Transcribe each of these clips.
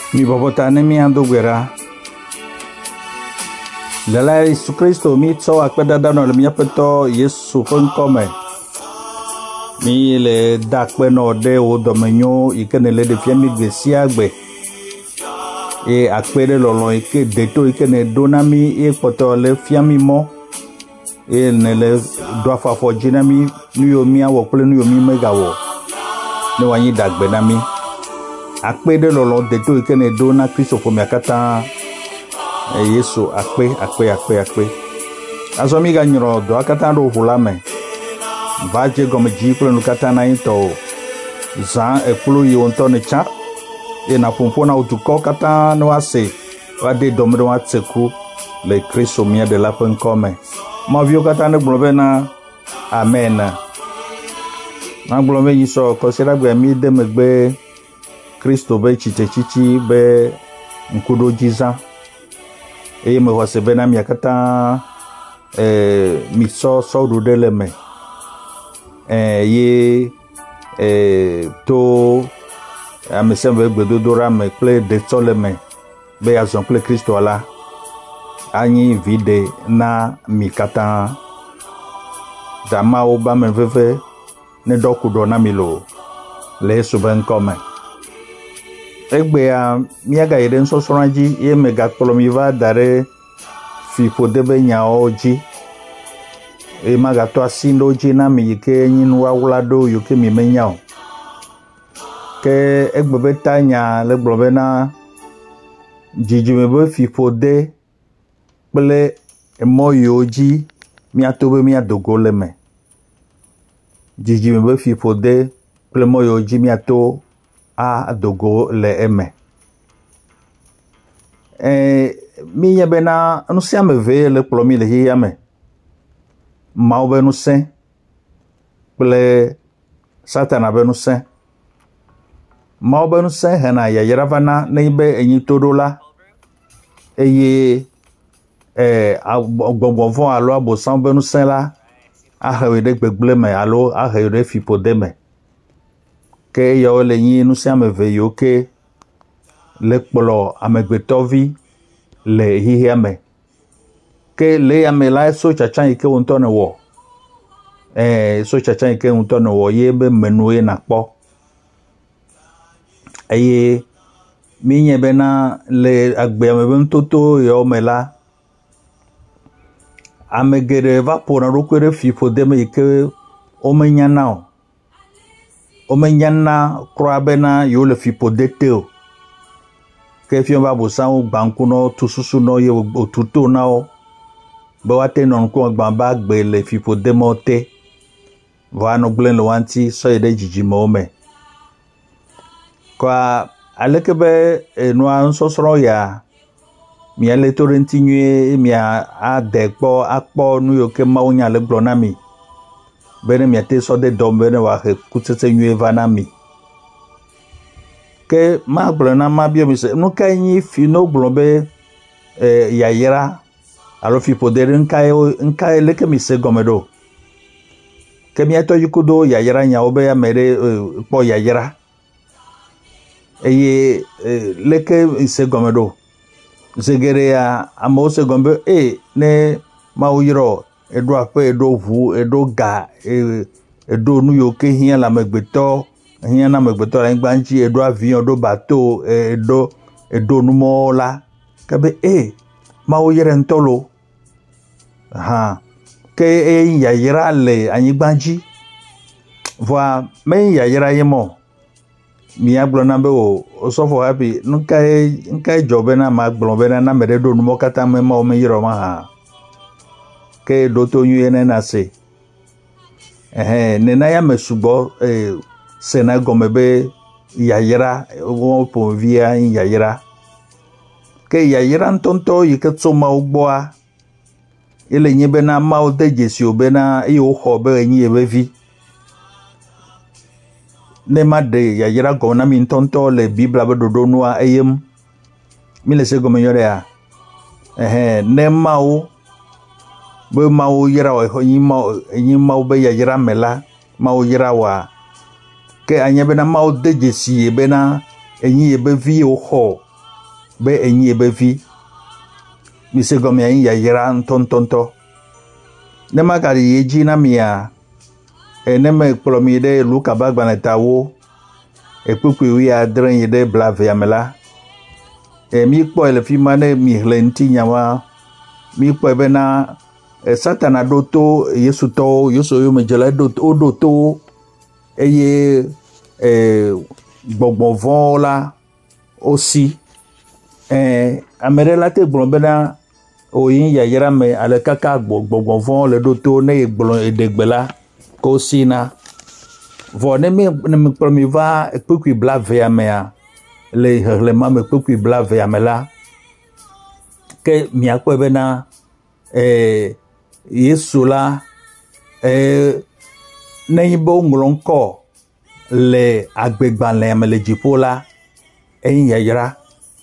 Mi babota ne mi ando gwera. Lala Yesu Kristo mi tso akpeda dano le mi apeto Yesu fonkome. Mi le dakpe no de o domenyo ikene le de fiami gbesia gbe. E akpede lolo ike deto ikene donami e poto le fiami mo. E ne le doafa fo jinami nuyo mi awo pele nuyo mi megawo. Ne wanyi dagbe nami. Akpede lolo deto ikene dona Kristo fo mi akata Yesu akpe. Azo mi ga nyoro do akata do hulame. Baje gome jiplo no kata na into. Zan ekulu yi onto ne cha. E na pompo na utuko kata no ase. Wa de domdo wa tseku le Kristo mi de la pen come. Ma vio kata ne globe na amen. Na globe yi so kosira gbe mi de megbe Kristo be chichi be nkudo jiza. E me wase bena mi akata mi so do dele me ye to amesembe gbedodora me ple de tole me be azon ple Kristo ala anyi vide na mi kata dama oba me veve ne dokudo na milo le suben come egbe a miaga ire nso soranji ye mega kolomiva dare fi podebe nya oji e maga to asindo oji na mi ke nyinu awlado yo ke mi menya o ke egbe betanya le gbobe na jijime be fi pode ple emo yoji mi atobe mi adogo le me jijime be fi pode ple mo yoji mi ato a dogo le eme mi yebena no se ameve le plomi le yame ma obe no se ple satana be no se ma obe no se hena ya yeravana ne be enyi todola eye agbongbonfon alo abosan be no se la a hewede gbegble me alo a hewede fipode me ke yo le yin nu sia meve yo ke le kpolo amegbetovi le hihia me ke le ame la so chachan ike unto ne wo so chachan ike unto ne wo ye be menu ye na po eye mi nye be na le agbe ame be ntoto yo me la amegere va pona rokwere fifo de me ike o menya na o menyana kroabena yo le fipo deteo ke fion ba bosan gbanku no tususu no ye otuto na o be wate non ko gbamba gbe le fipo demote va no glen lo wanti so ye de jijimo me kwa alekebe no ansosoro ya mi ale torentinwe mi a dekpo akpo nu yo ke ma onya le glonami bene mi ate so de dom bene wa he kutete nyu evanami ke ma blona ma bio mi se no kanyi fi no blombe yayera alo fi podere nkai leke mi se gomedo ke mi ato yukudo yayera nya obe ya mere po yayera eye leke se gomedo zegere ya amo se gombe ne ma uyiro edo ape edo vu edo ga edo nu yo ke hia la megbeto hia na megbeto la ngbanji edo avion edo bateau edo nu mo la kabe ma o yere ntolo ke ya yira le anyi gbanji voa me ya yira yemo mi aglo na be o so for happy nkai jobe na ma aglo be na me do nu mo kata me ma o me yiro ma ke doto yene na se nena ya mesubo sena gomebe yayira wo po via yayira ke yayira ntonto yiketso ma ugboa ele nyebe na ma o dejesi obena e o hobe enyi ebevi ne ma de yayira gona mi ntonto le bibla be dodo noa eyem mi le se gomeyore a ne ma o be mau yira wa nyi mau be yira mela mau yira wa ke anya be na mau dejesi be na enyi be vi o ho be enyi be vi mi se gome yin ya yira ntontonto ne makari yeji na mia ne me kplomi de luka bagbana tawo ekpukpu wi adren yede blave amela mi kpo ele fi mane mi hlenti nyawa mi kpo be na satana doto yesu to yoso yo me jela doto eye gbogbo vola aussi amere la te gbon be na oyin ya yera me ale kaka gbogbo von le doto ne gbon edegbela ko sina vo ne me promi va ekpukui blave amea le ma me ekpukui blave amela ke mi akpo be na yesu la ne yibo nglonko le agbegban le amele jipola eyin ya yera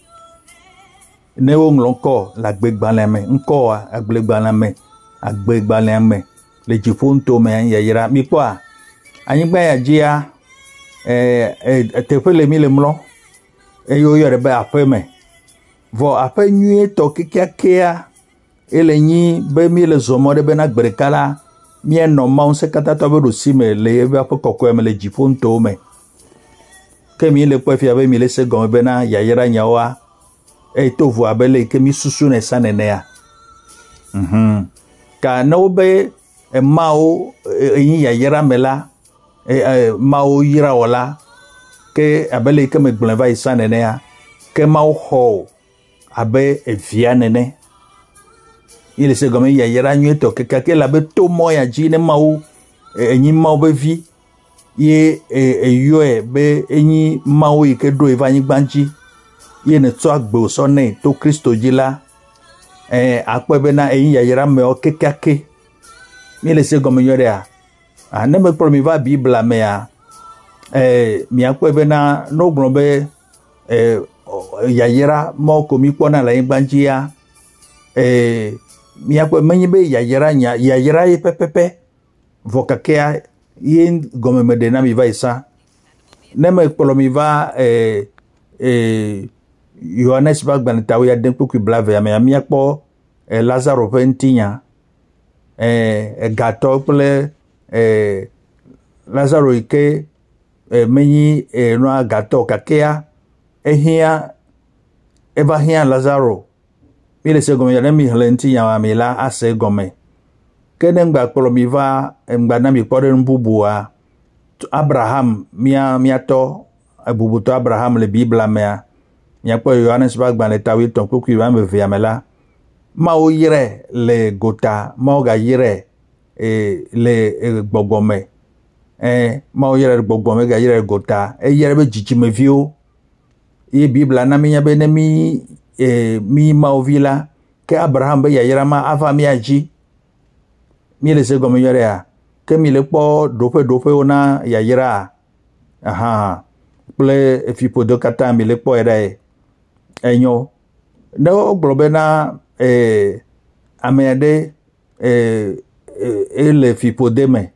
ne wo nglonko la agbegban le me nko agbegban le me le jiponto me ya yera mi kwa anyigba ya jia tefe le mi le mlo eyo yore be ape me vo ape nyi to kikiakea ele nyi be mi le zomo de be na gberekala mi eno ma on se kata to be rosi me le be ape kokko me le jiponto me ke mi le po fi abe mi le se gon be na ya yera nyawa to vo abele ke mi susu ne sanene ya ka no be mao yin ya yera mela mao yira wala ke abele ke me gblen vai sanene ya ke mao ho abe evia nene ile se gome ya yera nyeto ke la be to mo ya ji ne mao enyi mao be vi ye eyo be enyi mao ike do evanyi gbanji ye ne to agbo so ne to Kristo jila akpebe na enyi ya yera me o kekake mi le se gome yore a ne me promi va bible me a mi akpebe na no gbon be ya yera mo ko mi pona la ngbanji ya mi akpe menyi be ya yera ye pepepe vokakea yin gome me de na mi va isa ne me promi va Yohanes bagban tawo ya den poku blave ya me mi akpo Lazaro pentinya gato ple Lazaro ike menyi no gato kakea ehia eva hia Lazaro ile se gome ya mi hlenti ya mi la ase gome kenen gba kpolo mi va ngba na mi pore mbubua Abraham mia to abubuto Abraham le Bible mea mia po Yohanes bagban le tawi ton poku va me via mela ma o yire le gota ma o ga yire le gbogome ma o yire gbogome ga yire gota yire be jijime vio e Bible na mi be ne mi ma o vila ke Abraham be ya yira ma ava mi aji mi le se gome yore a ke mi le po dope ona ya yira ple fipo do kata mi le po era enyo ne o globe na amede le fipo de me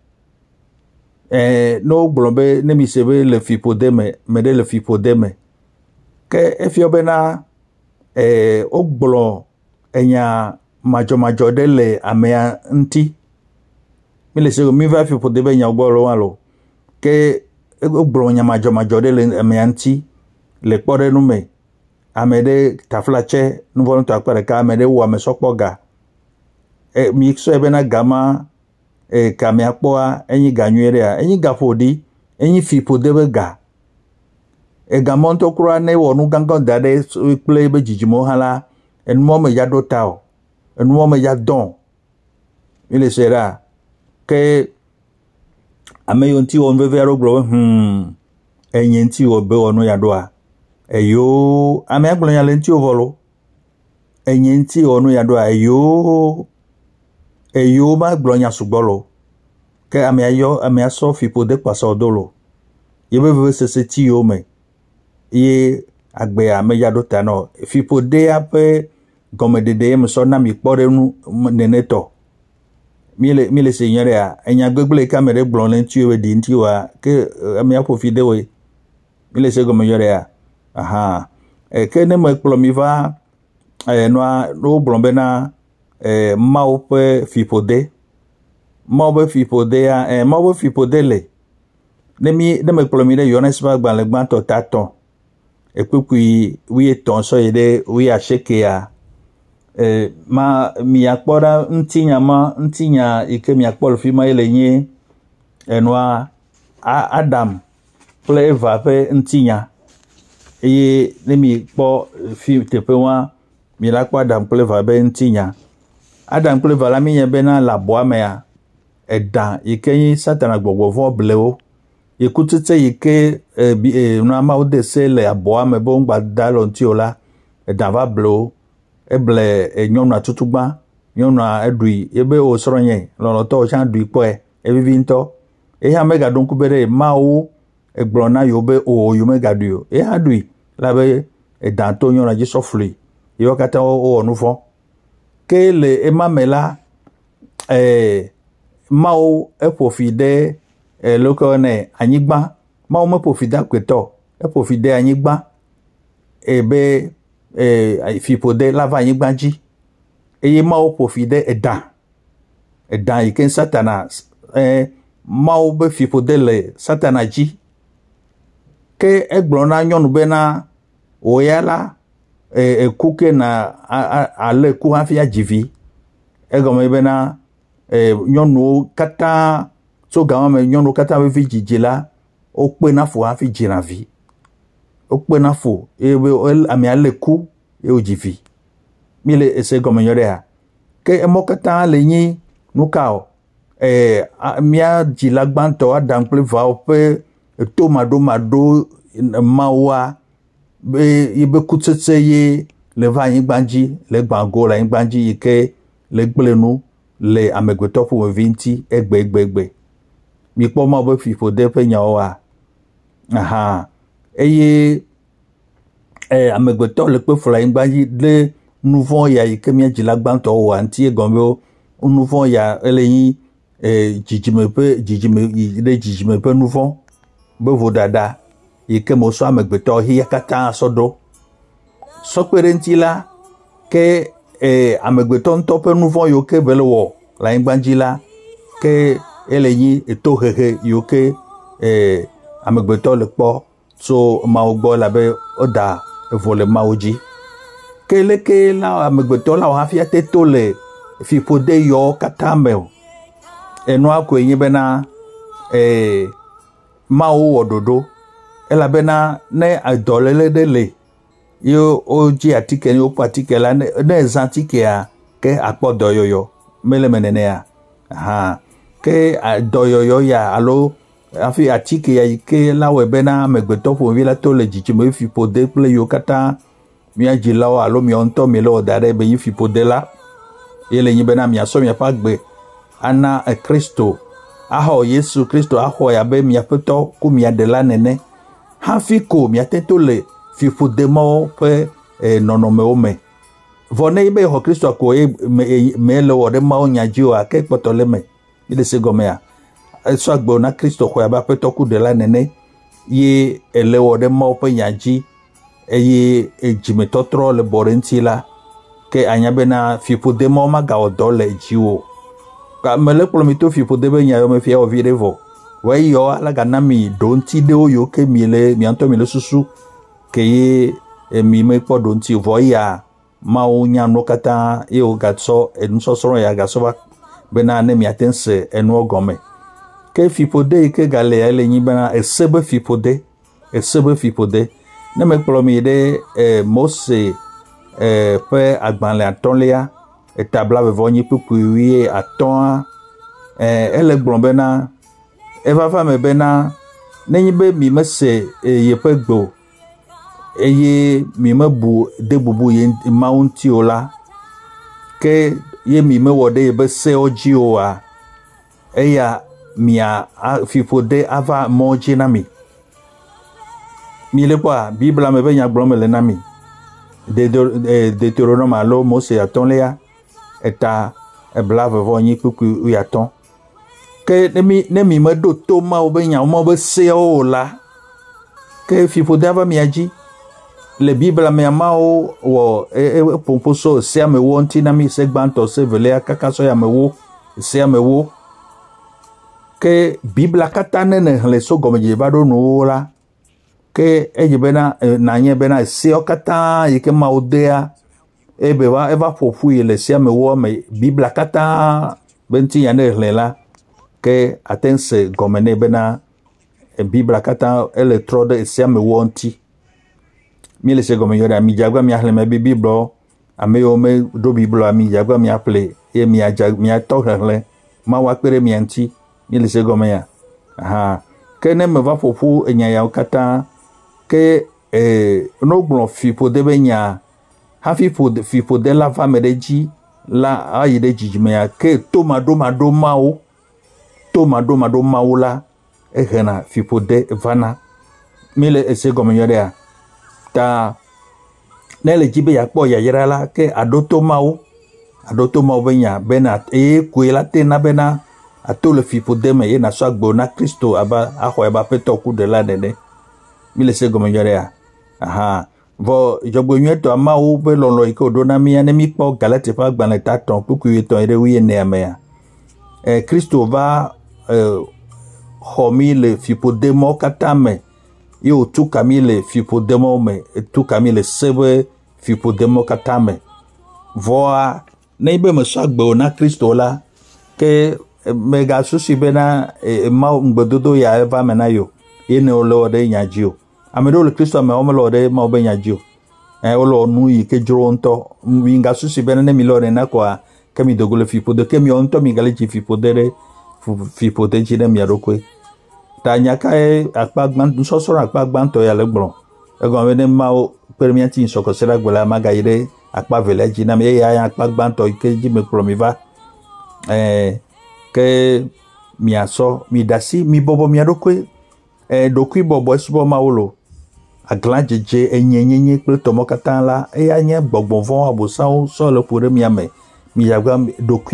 no globe ne mi sebe le fipo de me de le fipo de me ke efiobe na o glo enya majo de le amea nti mi le sego mi va fipo de be nya gboro wa lo ke o glo nya majo de le amea nti le pore nu me amede taflache nu vonu to akpere ka amede wo amesopoga mi so ebe na gama ka mi akpoa enyi ganywere a enyi gafodi enyi fipo debe ga gamonto kura ne wonu gangan dade play be jijimo hala enmo me ya dotao enmo me ya don ile sera ke ameyonti on vevero gro enyenti obe onu ya doa eyo ame agbolo ya lenti ovolo enyenti onu ya doa eyo ma agbolo ya sugbolo ke ame aso fipo de pasa odolo yebe veve sese ti o me ye agbe ame ya do tano fipo de ape gome de me so na mi pore nu neneto mi le senyore a enya gbegbele kamere gbolo lenti o di nti wa ke ame apo fide we mi le se gome yore a ke ne me kplɔ mi va noa no gblɔ bena Mawu ƒe fiƒode Mawu ƒe fiƒode ya Mawu ƒe fiƒode le ne me kplɔ mi ɖe Yohanes ƒe agbalẽ gbãtɔ tatɔ ekpekui 13 sɔ yi ɖe 19 miakpɔ ɖa ŋutinya yi ke miakpɔ le fi ma le nye enua Adam kple Eva ƒe ŋutinya eye ne mi kpɔ fi teƒe wa mi la kpɔ Adam kple Eva ƒe ŋutinya Adam kple Eva la mi nye bena le abɔa mea edã yi ke nye Satana gbɔgbɔvɔ blewo ikutsetse yi ke nua Mawu de se le abɔa me be ŋgba da le ŋuti o la edã va blewo eble nyɔnua tutugbã nyɔnua eɖui ebe wo srɔ̃nye lɔlɔtɔwo tsã ɖui kpɔe evivi ŋutɔ eya megaɖo ŋku be ɖe Mawu egblɔ na yewo be o yewo megaɖui o eya ɖui la be edã to nyɔnua dzi sɔfli yewo katã wowɔ nu vɔ̃ ke le ema me la Mawu eƒo fi ɖe loko ne anyigba Mawu meƒo fi de akpetɔ eƒo fi de anyigba ebe fiƒode la va anyigba dzi eye Mawu ƒo fi ɖe edã yi ke Satana Mawu be fiƒode le Satana dzi ke egblɔ na nyɔnu bena wò ya la eku ke na ale ku hafi adzi vi egɔme bena nyɔnuwo katã tso gama me nyɔnuwo katã be vi dzidzi la wokpe na fo hafi dzina vi wokpe na fo eye ame ale ku eye wodzi vi mi le ese gɔme nyɔ ɖea ke emɔ katã le nyi nu ka o mia dzila gbãtɔ Adam kple Evawo ƒe to maɖo Mawua be yibe kutsetse ye le va anyigba dzi le gbãgo le anyigba dzi yi ke le gble nu le amegbetɔ ƒomevi ŋuti egbe mi kpɔ Mawu be fiƒode ƒe nyawoa eye amegbetɔ le kpe fla anyigba dzi le nu vɔ̃ ya yi ke mia dzila gbãtɔ wɔa ŋuti egɔme be nu vɔ̃ ya ele nyi dzidzime ƒe nu vɔ̃ be vodada yi ke mo sɔ amegbetɔ hia katã sɔ ɖo sɔkpe ɖe ŋuti la ke amegbetɔ ŋutɔ ƒe nu vɔ̃ yiwo ke be le wɔ le anyigba dzi la ke ele nyi etohehe yiwo ke amegbetɔ le kpɔ tso Mawu gbɔ labe woda evo le Mawu dzi ke leke la amegbetɔ la hafi ate to le fiƒode yiwo katã me o enua koe nye bena Mawu wɔ ɖoɖo elabena ne dɔléle ɖe le ye wodzi atike ne woƒo atike la ne zã atikea ke akpɔ dɔyɔyɔ mele me nenea ke dɔyɔyɔ ya alo hafi atike ya yi ke la wɔe bena amegbetɔ ƒomevi la to le dzidzime fiƒode kple yiwo katã mia dzilawo alo miawo ŋutɔ mi le wɔ da ɖe be yi fiƒode la ye le nyi bena miasɔ miaƒe agbe ana Kristo axɔ Yesu Kristo axɔe abe miaƒe tɔ ku miaɖela nene hafi ko miate to le fiƒode mawo ƒe nɔnɔmewo me vɔ ne be xɔ Kristo ko me le wɔ ɖe Mawu nya dzi o ke kpɔtɔ le me mi le se gɔmea esɔ agbe na Kristo xɔe abe aƒetɔ ku ɖela nene ye ele wɔ ɖe Mawu ƒe nya dzi eye dzimetɔtrɔ le bɔ ɖe ŋuti la ke anya bena fiƒode mawo magawɔ dɔ le dziwo mele kplɔ mi to fiƒode be nya me fia wɔ vi ɖe vɔ wɔyi yɔ ala gana mi ɖo ŋuti ɖewo yiwo ke mi le mia ŋutɔ mi le susu ke ye mi mekpɔ ɖo ŋuti vɔ ya Mawu nya nuwo katã ye wogatsɔ enusɔsrɔ̃ ya gasɔ va bena ne miate ŋu se enuwo gɔme ke fiƒode yi ke gale ya le nyi bena ese be fiƒode ne mekplɔ mi ɖe Mose ƒe agbalẽ 5 etabla 25 ele gblɔ bena evava me bena nenye be mi mese yeƒe gbe o eye mi mebu de bubu ye Mawu ŋuti o la ke ye mi mewɔ ɖe yebe sewo dzi oa eya mia fiƒode ava mɔ dzi na mi le kpɔa Bibla me be nyagblɔ me le na mi Deutéronome alo Mose 5 eta ebla 25 ke ne mi meɖo to Mawu be nya Mawu be sewo o la ke fiƒode ava mia dzi le Bible me amao wo pomposo se amewo nti na mi se gbanto se vele akaka so ya mewo se amewo ke Bible kata ne le so gomeje ba do no la ke ejebena na nye bena se okata yike maudea ebe wa eva fofu ile se amewo me Bible kata benti ya ne le la ke atense gomene bena Bible kata electrode se amewo nti mi le se gomen yora mi jagwa mi ahle me Bible ameyo me do Bible ami jagwa mi aple e mi ajag mi atohle ma wa pere mi anti mi le se gomen ya aha ke ne me va fofu enya ya kata ke no gbon fipo de benya ha fipo de la femme de ji la ayi de jijime ya ke tomado mao la ehena fipo de vana mi le se gomen yora ya ta nele jibe ya po ya yira la ke adoto mau benya bena kuela tena bena atole fipo deme ye na so agbo na Kristo aba aho eba peto ku de la dede mi le se gomo yore ya aha vo jogbo nyeto amau be lonlo iko do na mi ane mi po galate fa gban ta ton puku yeto ere wi ne ame ya Kristo va homi le fipo demo katame yo tu kamile fipo demo me tu kamile sebe fipo demo katame voa neibe me sagbe na Kristo la ke mega susi bena ma ngbododo ya eva mena yo ene olo de nyajio amedo le Kristo me omelo de ma obe nyajio olo nu yi ke juro nto winga susi bena ne milore na kwa kemi dogole fipo de kemi onto mi galeji fipo de jine mi arokwe tanya kai akpagban sosoro akpagban to ya legbon egon we ne ma o permianti soko sera gbola magayire akpa village na me ya akpagban to ke ji me promiva ke mi aso mi dasi mi bobo mi adokwe dokwi bobo esubo mawolo aglan jeje enyenyenye pe tomo katan la anye gbogbon fon abosan so le pore mi ame mi yagba dokwi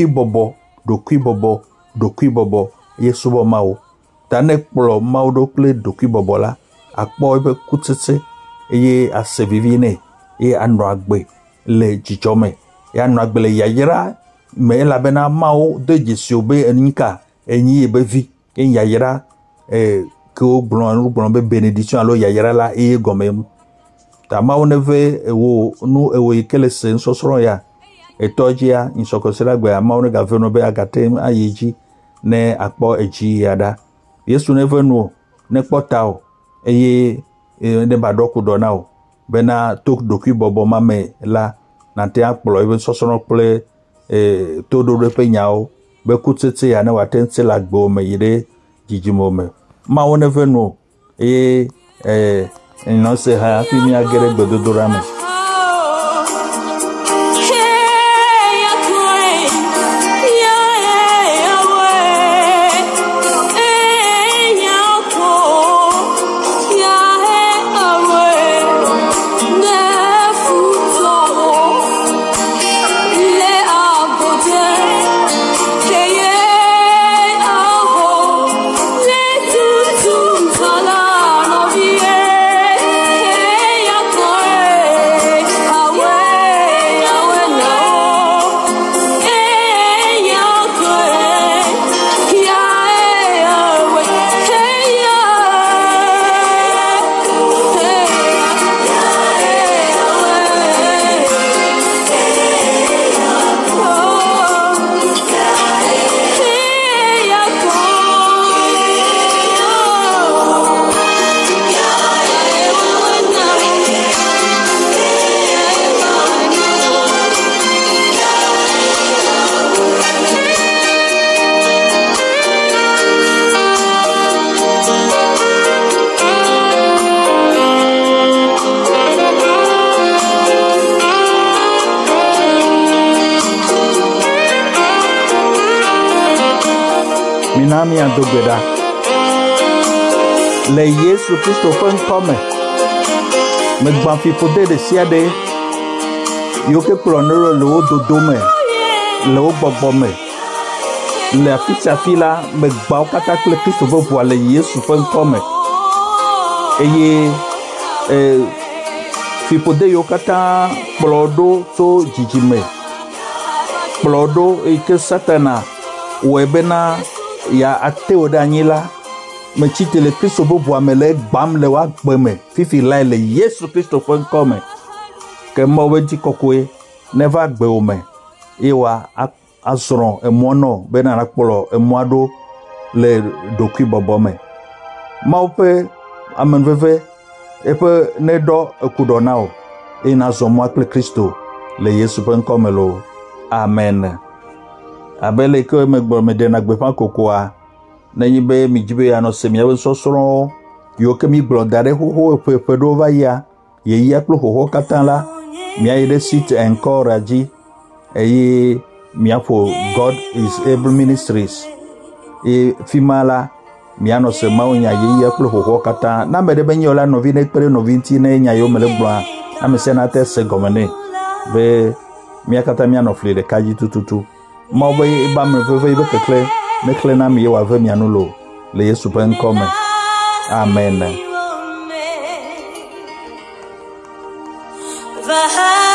bobo yesubo mawo tane kplo maudo kle doki bobola akpo ebe kutete eye asevivine anu agbe le jijome anu agbe le yayira me la bena mao de jisiobe enika enyi ebevi yayira ko blon be benediction alo yayira la gomem ta mao neve ewo nu ewo ikele se sosoro ya etojia insokosela gbe mao ne gaveno be agate ayeji ne akpo eji yada Yesu never know ne potao eye ne badoku donao bena tok doki bobo mame la na te akplo even sosono ple todo repe nyao be kutete ya ne watense la gbo me yire jijimo me ma won never know no se ha fi mi agere gbododora me Minami Andogeda le Yesu Kristo fen come me gban fi poder de siade yo ke plonero le ododo me le ogbogbo me le afisa fila me gba okata kle Kristo vo le Yesu fen come eye fipode yo kata plodo so jijime plodo ike satana webena ya ateo danyila me chitele Kristo bobo amele gbam le wa gbeme fifi lai le Yesu Kristo fo nkome ke mo weji kokwe never gbe o me iwa asron emono bena na polo emoado le dokui bobo me maupe amenveve epe nedo ekudonao ina zomo akle Kristo le Yesu fo nkome lo amen abele ke megbo me de na gbe fa kokoa na yibe mi jibe ya no semia we sosoro yo ke mi blodare ho pepe do va ya ye ya klo ho katan la mi ayede sit encourage eyi mi afo God is Able Ministries fimala mi ano se ma onya ye ya klo ho katan na me de benyo la novi na pere novi nti na nya yo mele blo na me se na te se gomene be mi akata mi ano fle de kaji tututu mo be ba me veve be kekle mekle na mi wa ve mi anulo le Yesu pe nkome amen.